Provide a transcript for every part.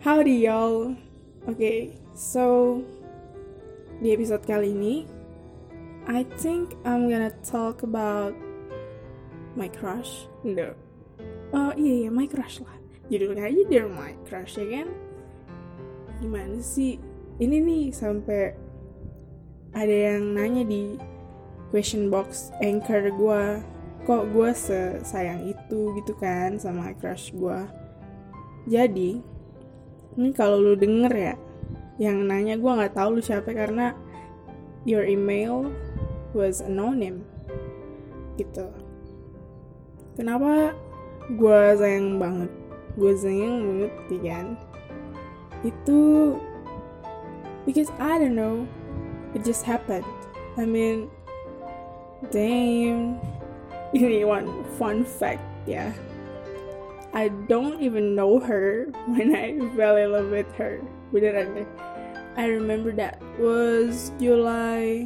Howdy y'all. Okay, so di episode kali ini I think I'm gonna talk about my crush. No. Iya, my crush lah. Judulnya aja Dear My Crush, ya kan? Gimana sih? Ini nih sampai ada yang nanya di question box anchor gue, kok gue sayang itu gitu kan sama crush gue. Jadi ini kalau lu denger ya, yang nanya gue nggak tahu lu siapa karena your email was anonym gitu. Kenapa gue sayang banget? Gue sayang banget kan? Itu because I don't know, it just happened. I mean, damn. Ini one fun fact ya. I don't even know her when I fell in love with her. Beneran deh. I remember that was July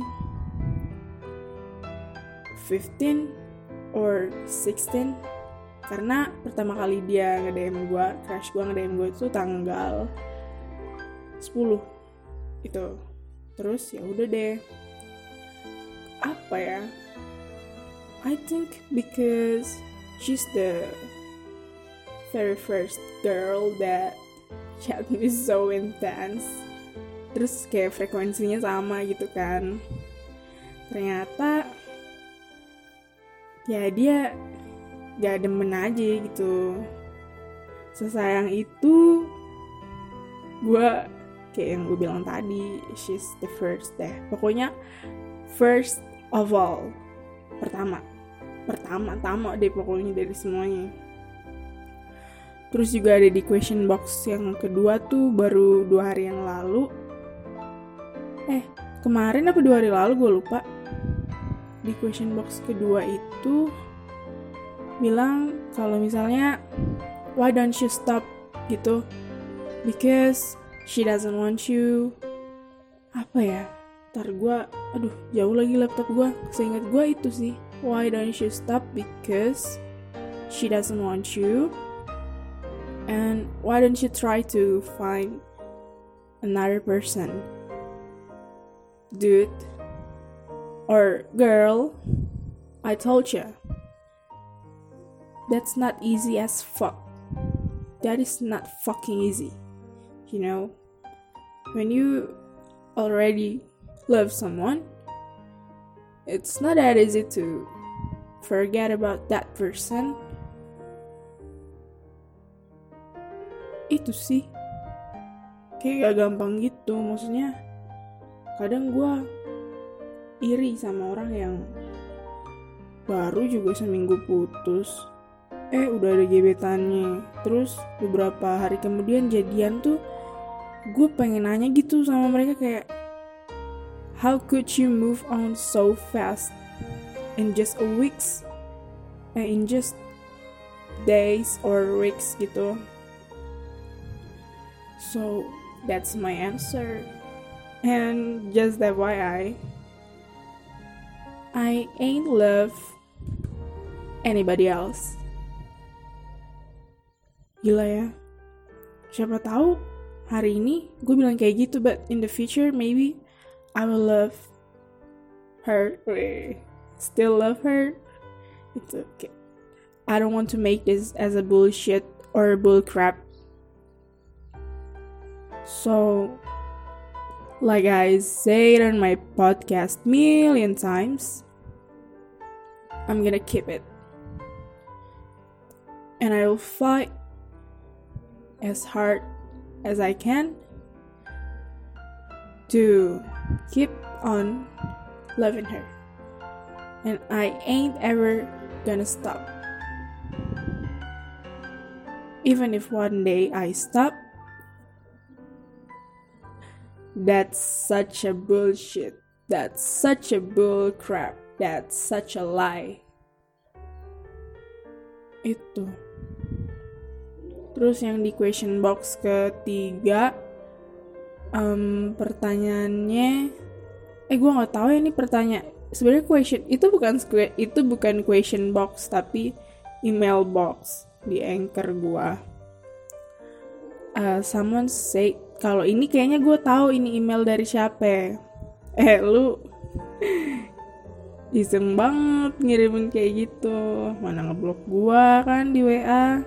15 or 16. Karena pertama kali dia nge-DM gue, crush gue nge-DM gue itu tanggal 10 itu. Terus ya udah deh. Apa ya? I think because she's the very first girl that chat me so intense. Terus kayak frekuensinya sama gitu kan. Ternyata ya dia gak demen aja gitu. Sesayang itu gue kayak yang gue bilang tadi, she's the first deh. Pokoknya first of all, pertama deh pokoknya dari semuanya. Terus juga ada di question box yang kedua tuh baru 2 hari yang lalu. Kemarin apa 2 hari lalu gue lupa. Di question box kedua itu bilang kalau misalnya why don't you stop gitu, because she doesn't want you. Apa ya, ntar gue jauh lagi laptop gue, seingat gue itu sih, why don't you stop because she doesn't want you, and why don't you try to find another person, dude or girl. I told you, that's not easy as fuck. That is not fucking easy. You know, when you already love someone, it's not that easy to forget about that person. Itu sih kayak gak gampang gitu. Maksudnya kadang gue iri sama orang yang baru juga seminggu putus, udah ada gebetannya. Terus beberapa hari kemudian jadian tuh, gue pengen nanya gitu sama mereka kayak, how could you move on so fast in just a weeks, in just days or weeks gitu. So that's my answer. And just FYI, I ain't love anybody else. Gila ya. Siapa tahu hari ini gue bilang kayak gitu, but in the future maybe I will love her. Still love her. It's okay. I don't want to make this as a bullshit or bull crap. So, like I said on my podcast million times, I'm gonna keep it. And I will fight as hard as I can to keep on loving her. And I ain't ever gonna stop. Even if one day I stop, that's such a bullshit. That's such a bull crap. That's such a lie. Itu. Terus yang di question box ketiga, pertanyaannya, gue nggak tahu ya ini pertanyaan. Sebenarnya itu bukan question box tapi email box di Anchor gua. someone say, kalau ini kayaknya gue tahu ini email dari siapa. Lu iseng banget ngirimin kayak gitu. Mana ngeblok gue kan di WA.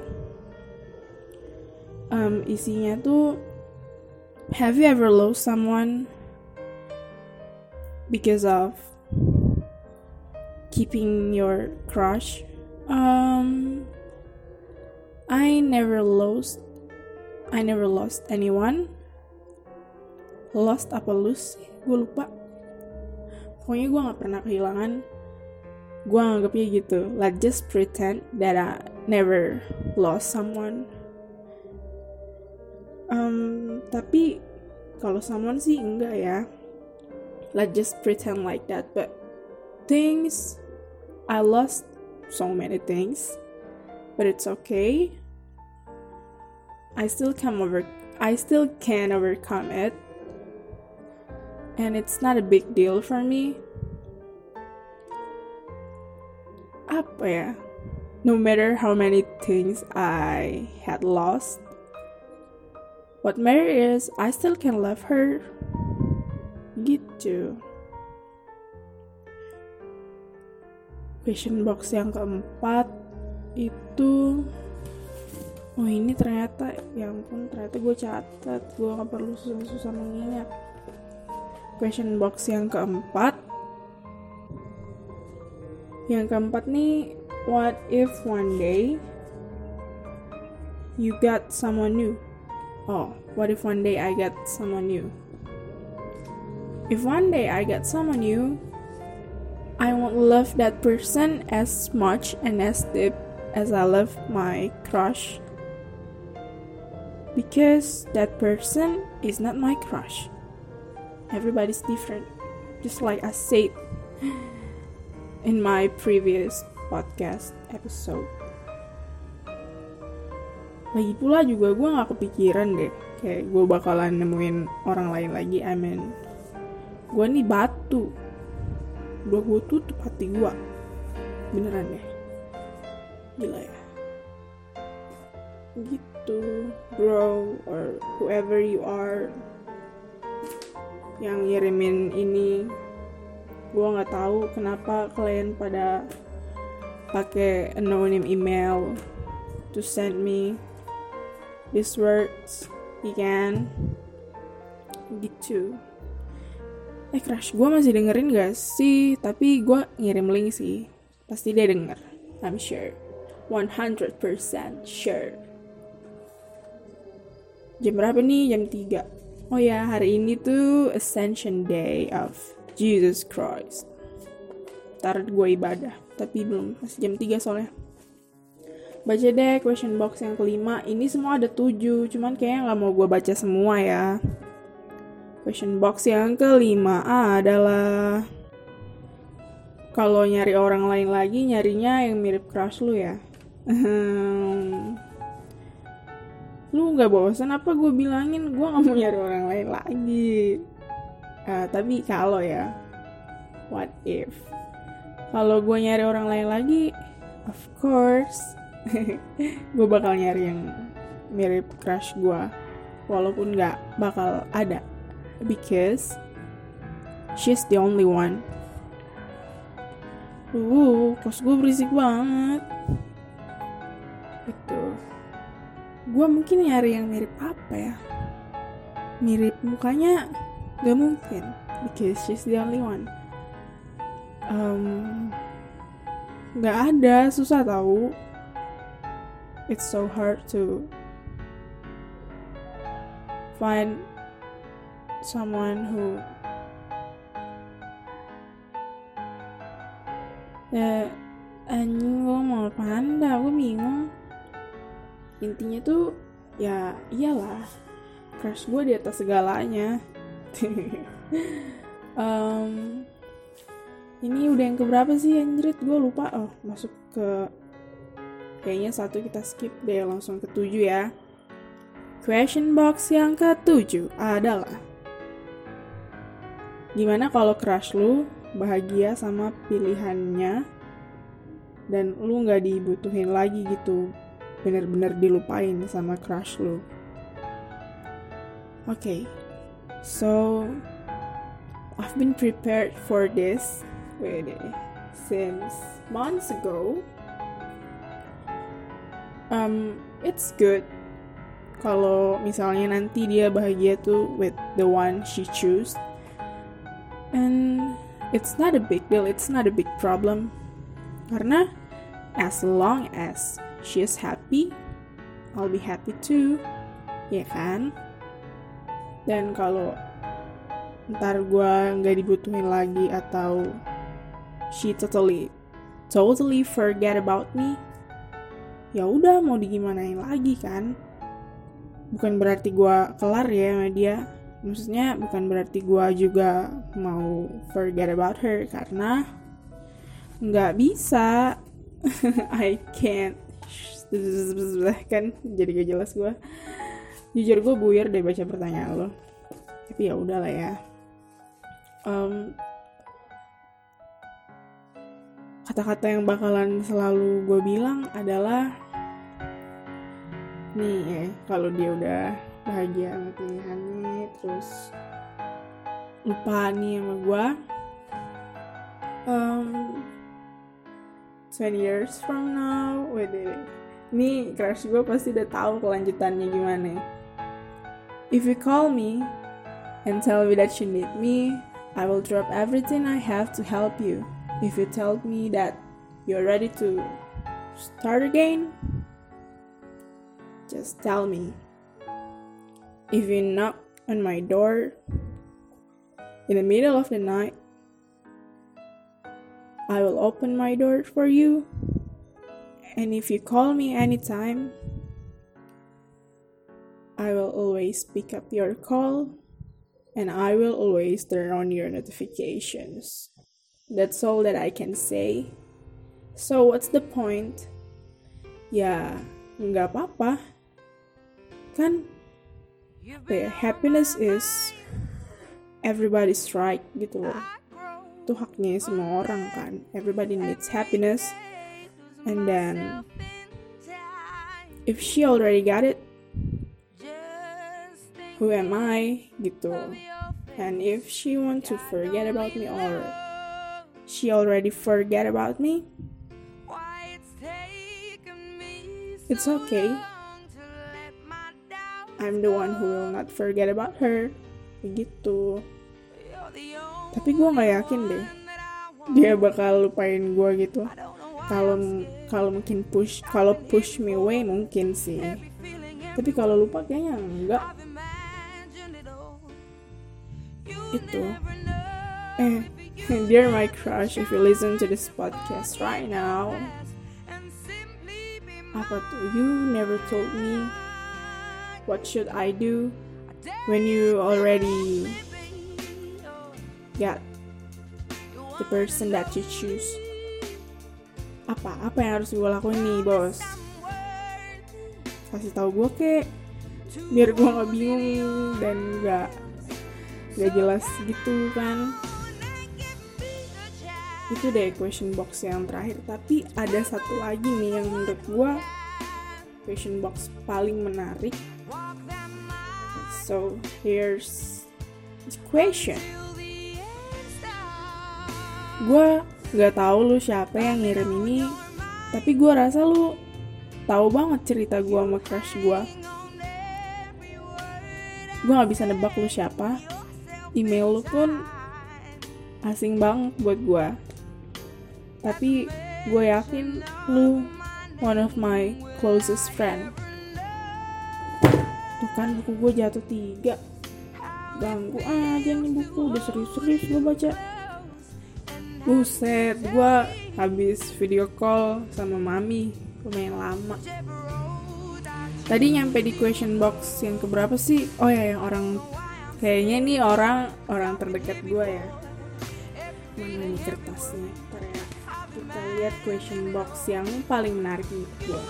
Isinya tuh, have you ever lost someone because of keeping your crush? I never lost anyone. Lost apa lose? Gue lupa. Pokoknya gue gak pernah kehilangan. Gue anggapnya gitu. Let's just pretend that I never lost someone. Tapi kalau someone sih enggak ya. Let's just pretend like that. But things, I lost so many things. But it's okay. I still can overcome it. And it's not a big deal for me. Apa ya? No matter how many things I had lost, what matters is I still can love her. Gitu. Question box yang keempat itu, oh ini ternyata, ya ampun, ternyata gue catat, gue gak perlu susah-susah mengingat. Question box yang keempat nih, what if one day you got someone new? Oh, what if one day I get someone new? If one day I get someone new, I won't love that person as much and as deep as I love my crush. Because that person is not my crush. Everybody's different. Just like I said in my previous podcast episode. Lagi pula juga gue gak kepikiran deh kayak gue bakalan nemuin orang lain lagi. I mean, gue nih batu, udah gue tutup hati gue. Beneran deh. Gila ya. Gitu, bro, or whoever you are yang ngirimin ini. Gue gak tahu kenapa kalian pada pakai anonymous email to send me these words, ikan gitu. Crush gue masih dengerin gak sih? Tapi gue ngirim link sih, pasti dia denger, I'm sure, 100% sure. Jam berapa nih? Jam 3. Oh ya, hari ini tuh Ascension Day of Jesus Christ. Ntar gue ibadah, tapi belum, masih jam 3 soalnya. Baca deh question box yang kelima. Ini semua ada 7, cuman kayaknya gak mau gue baca semua ya. Question box yang kelima adalah, kalau nyari orang lain lagi, nyarinya yang mirip crush lu ya. Lu gak bosan apa gue bilangin gue gak mau nyari orang lain lagi. Tapi kalau ya, what if kalau gue nyari orang lain lagi, of course gue bakal nyari yang mirip crush gue, walaupun gak bakal ada, because she's the only one. Kos gue berisik banget. Itu gue mungkin nyari yang mirip apa ya, mirip mukanya gak mungkin, because she's the only one. Gak ada, susah tahu. It's so hard to find someone who anjing, gue mau panda, gue bingung. Intinya tuh ya iyalah, crush gue di atas segalanya. Ini udah yang keberapa sih anjrit, gue lupa. Oh, masuk ke, kayaknya 1 kita skip deh, langsung ke 7 ya. Question box yang ke-7 adalah, gimana kalau crush lu bahagia sama pilihannya dan lu gak dibutuhin lagi gitu, bener-bener dilupain sama crush lu. Okay, so I've been prepared for this since months ago. It's good kalau misalnya nanti dia bahagia tuh with the one she choose, and it's not a big deal, it's not a big problem, karena as long as she is happy, I'll be happy too, ya kan? Dan kalau ntar gue nggak dibutuhin lagi atau she totally forget about me, ya udah mau digimanain lagi kan? Bukan berarti gue kelar ya sama dia, maksudnya bukan berarti gue juga mau forget about her, karena nggak bisa. I can't. Kan jadi gak jelas gue. Jujur gue buyar deh baca pertanyaan lo, tapi ya udahlah ya. Kata-kata yang bakalan selalu gue bilang adalah nih ya, kalau dia udah bahagia sama pilihannya terus lupa nih sama gue, 20 years from now, nih crush gue pasti udah tahu kelanjutannya gimana. If you call me and tell me that you need me, I will drop everything I have to help you. If you tell me that you're ready to start again, just tell me. If you knock on my door in the middle of the night, I will open my door for you. And if you call me anytime, I will always pick up your call, and I will always turn on your notifications. That's all that I can say. So what's the point? Ya, nggak apa-apa. Kan, happiness is everybody's right gitu loh. Itu haknya semua orang kan. Everybody needs happiness. And then, if she already got it, who am I gitu. And if she want to forget about me or she already forget about me, it's okay. I'm the one who will not forget about her. Begitu. Tapi gue gak yakin deh dia bakal lupain gue gitu. Kalau mungkin push me away mungkin sih. Tapi kalau lupa kayaknya enggak. Itu. Dear my crush, if you listen to this podcast right now, apa tuh? You never told me what should I do when you already got the person that you choose. Apa yang harus gue lakuin nih, bos? Kasih tahu gue kek, biar gue nggak bingung dan nggak jelas gitu kan. Itu deh question box yang terakhir. Tapi ada satu lagi nih yang menurut gue question box paling menarik. So here's the question. Gue gak tahu lu siapa yang ngirim ini, tapi gue rasa lu tahu banget cerita gue sama crush gue. Gue gak bisa nebak lu siapa. Email lu pun asing banget buat gue. Tapi gue yakin lu one of my closest friend. Tuh kan buku gue jatuh 3. Ganggu aja nih buku, udah serius-serius gue baca. Buset, gue habis video call sama mami lumayan lama. Tadi nyampe di question box yang keberapa sih? Oh ya, yang orang kayaknya ini orang terdekat gue ya. Mana nih kertasnya? Ntar ya, kita lihat question box yang paling menarik nih gue.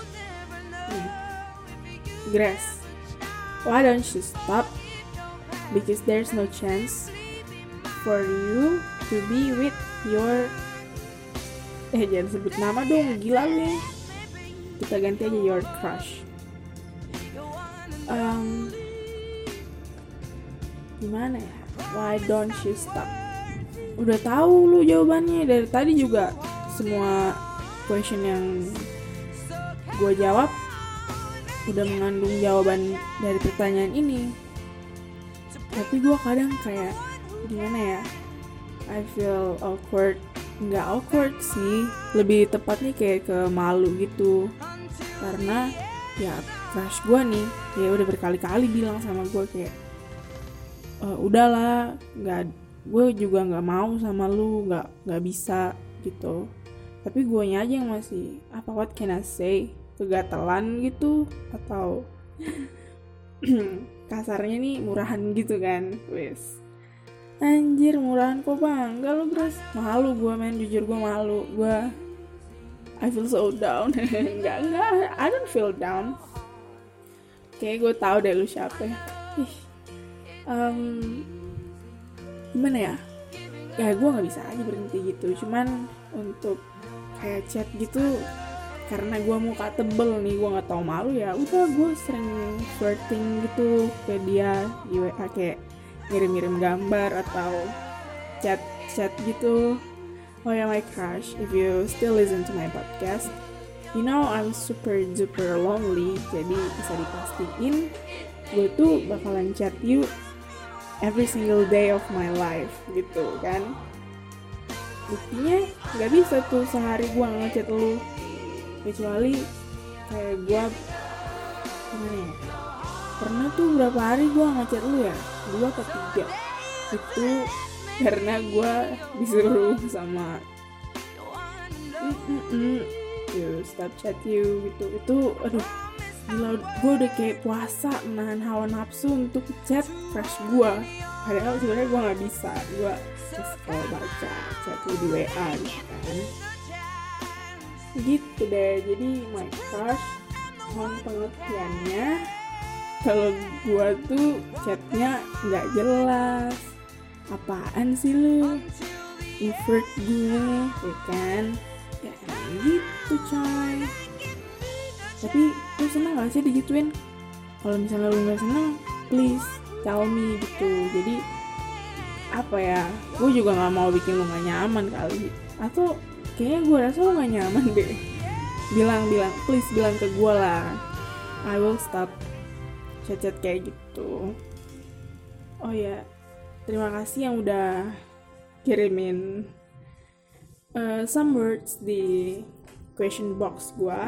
Grace, why don't you stop? Because there's no chance for you to be with your jangan sebut nama dong, gila lu ya. Kita ganti aja your crush. gimana ya, why don't you stop? Udah tahu lu jawabannya dari tadi juga, semua question yang gue jawab udah mengandung jawaban dari pertanyaan ini. Tapi gue kadang kayak gimana ya, I feel awkward. Nggak awkward sih, lebih tepatnya kayak ke malu gitu. Karena ya crush gue nih, ya udah berkali-kali bilang sama gue kayak udahlah, gue juga nggak mau sama lu, nggak bisa gitu. Tapi guanya aja yang masih what can I say, kegatelan gitu, atau kasarnya nih murahan gitu kan. Wes anjir, murahan kok bang, enggak lu bros. Malu gue men, jujur gue malu. I feel so down. enggak, I don't feel down. Kayak gue tahu deh lu siapa ya. Gimana ya, gue gak bisa aja berhenti gitu. Cuman untuk kayak chat gitu, karena gue muka tebel nih, gue gak tahu malu, ya udah gue sering flirting gitu ke dia di WA, kayak ngirim-ngirim gambar atau chat gitu. Oh ya, my crush, if you still listen to my podcast, you know I'm super duper lonely. Jadi bisa dipastiin gue tuh bakalan chat you every single day of my life gitu kan. Buktinya gak bisa tuh sehari gue ngechat lu, kecuali kayak gue gimana ya, pernah tuh berapa hari gue ngechat lu ya, 2 atau 3. Itu karena gue disuruh sama you stop chat you gitu. Itu aduh gila, gue udah kayak puasa menahan hawa nafsu untuk chat crush gue, padahal sebenarnya gue nggak bisa. Gue kalau baca chat lu di WA gitu kan, gitu deh. Jadi my crush, mohon pengertiannya kalau gue tuh chatnya nggak jelas. Apaan sih lu invert gue, ya kan? Ya gitu coy. Tapi lu seneng gak sih digituin? Kalau misalnya lu gak seneng, please tell me gitu. Jadi apa ya, gue juga gak mau bikin lu gak nyaman kali. Atau kayaknya gue rasa lu gak nyaman deh. Bilang, please bilang ke gue lah. I will stop chat-chat kayak gitu. Oh ya, terima kasih yang udah kirimin some words di question box gue.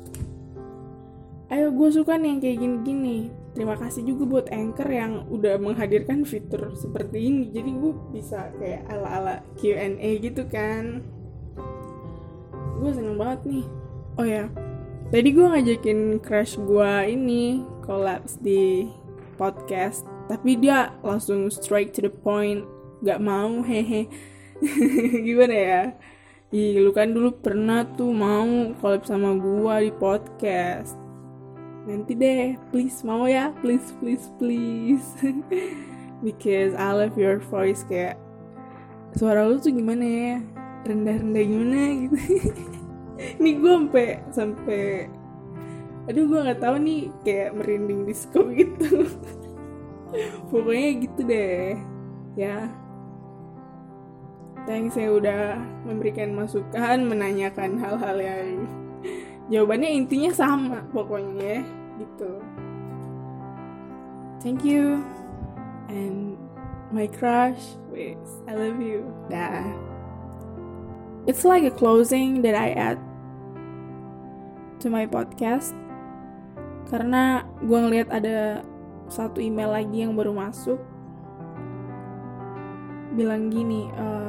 Ayo, gue suka nih yang kayak gini-gini. Terima kasih juga buat Anchor yang udah menghadirkan fitur seperti ini. Jadi gue bisa kayak ala-ala Q&A gitu kan. Gue seneng banget nih. Oh ya, tadi gue ngajakin crush gue ini collabs di podcast, tapi dia langsung straight to the point, gak mau, hehe. Gimana ya? Ih, lu kan dulu pernah tuh mau collab sama gue di podcast. Nanti deh, please, mau ya? Please. Because I love your voice, kayak suara lu tuh gimana ya? Rendah-rendah gimana gitu. Nih gue sampai aduh, gue nggak tahu nih, kayak merinding disco gitu. Pokoknya gitu deh ya. Thanks ya udah memberikan masukan, menanyakan hal-hal yang jawabannya intinya sama pokoknya gitu. Thank you. And my crush, wait, I love you. Dah. It's like a closing that I add to my podcast, karena gue ngeliat ada satu email lagi yang baru masuk, bilang gini,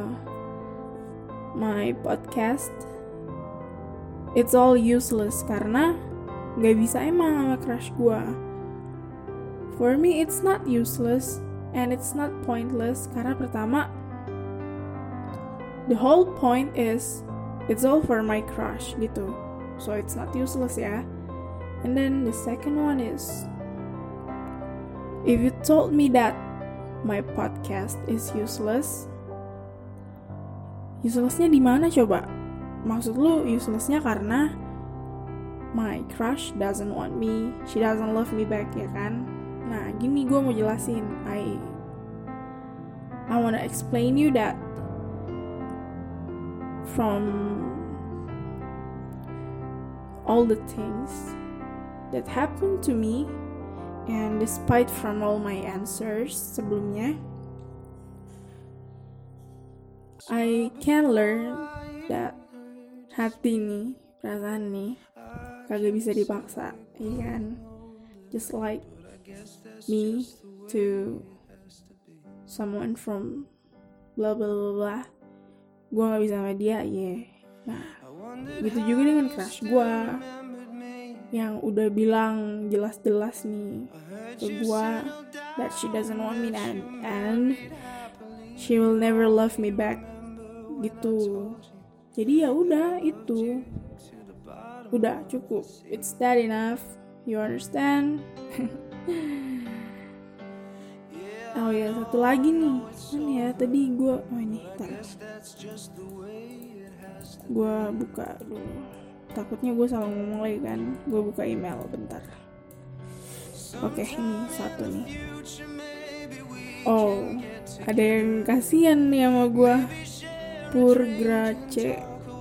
my podcast it's all useless karena gak bisa emang sama crush gue. For me it's not useless and it's not pointless, karena pertama, the whole point is it's all for my crush gitu, so it's not useless ya. And then the second one is, if you told me that my podcast is useless, uselessnya di mana coba? Maksud lu uselessnya karena my crush doesn't want me, she doesn't love me back, ya kan? Nah, gini gue mau jelasin. I wanna explain you that from all the things that happened to me, and despite from all my answers sebelumnya, I can learn that hati nih, perasaan nih, kagak bisa dipaksa, ya kan? Just like me to someone from blah blah blah blah, gue gak bisa sama dia, Nah, gitu juga dengan crush gue yang udah bilang jelas-jelas nih ke gue that she doesn't want me and she will never love me back gitu. Jadi ya udah, itu udah cukup, it's that enough, you understand? Oh ya, satu lagi nih, mana ya tadi gue, ini gue buka dulu, takutnya gue salah ngomong lagi kan. Gue buka email bentar. Oke, ini satu nih. Oh, ada yang kasihan nih sama gue, Purgrace.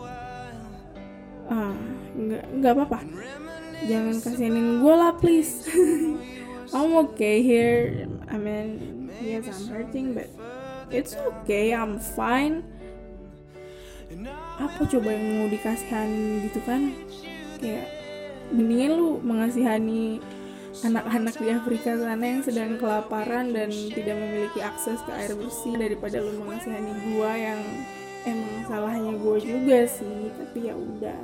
Nggak apa-apa, jangan kasihanin gue lah please. I'm okay here. I mean, yes, I'm hurting, but it's okay, I'm fine. Apa coba yang mau dikasihani gitu kan? Kayak mendingan lu mengasihani anak-anak di Afrika sana yang sedang kelaparan dan tidak memiliki akses ke air bersih, daripada lu mengasihani gua yang emang salahnya gua juga sih. Tapi ya udah.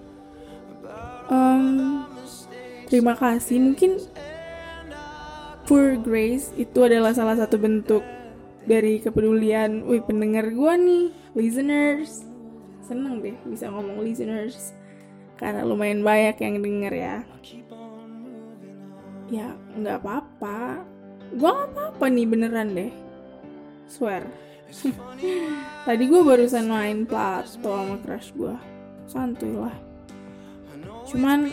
Terima kasih. Mungkin Poor Grace itu adalah salah satu bentuk dari kepedulian pendengar gue nih, listeners. Seneng deh bisa ngomong listeners, karena lumayan banyak yang denger ya. Ya gak apa-apa, gue gak apa-apa nih, beneran deh, swear. Tadi gue barusan main Plato sama crush gue, santuy lah. Cuman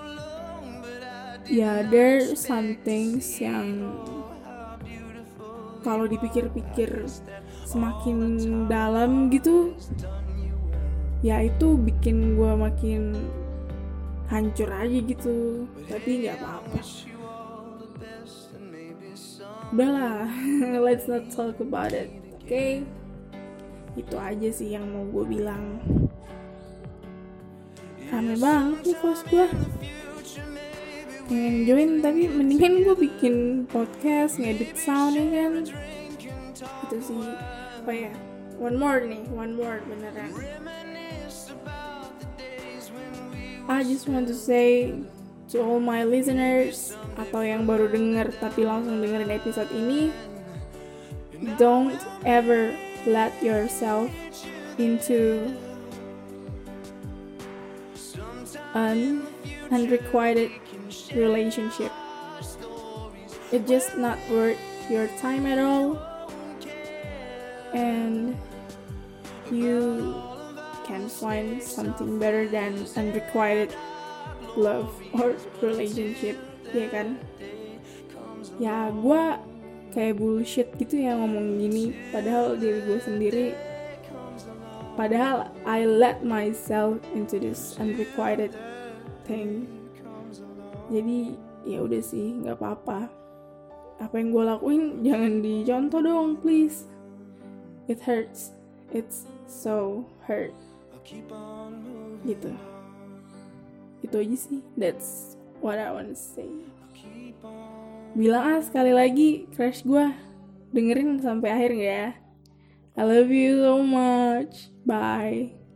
ya, there some things yang kalau dipikir-pikir semakin dalam gitu, ya itu bikin gue makin hancur aja gitu. Tapi nggak apa-apa, udahlah. Let's not talk about it, okay? Itu aja sih yang mau gue bilang. Rame banget nih kos gue, pengen join tapi mendingan gue bikin podcast, ngedit sound ya kan. Itu sih. Oh ya, one more beneran. I just want to say to all my listeners, atau yang baru denger tapi langsung dengerin episode ini, don't ever let yourself into an unrequited relationship. It's just not worth your time at all, and you can find something better than unrequited love or relationship, ya kan? Ya gue kayak bullshit gitu ya ngomong gini, padahal diri gue sendiri, padahal I let myself into this unrequited thing. Jadi ya udah sih, nggak apa-apa. Apa yang gue lakuin jangan dicontoh dong, please. It hurts. It's so hurt. Gitu. Itu aja sih. That's what I want to say. Bilang sekali lagi, crush gue, dengerin sampai akhir nggak ya? I love you so much. Bye.